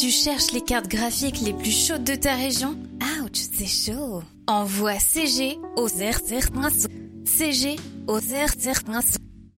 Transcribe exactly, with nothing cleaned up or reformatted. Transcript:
Tu cherches les cartes graphiques les plus chaudes de ta région? Ouch, c'est chaud. Envoie C G au zéro zéro un. C G au zéro zéro un.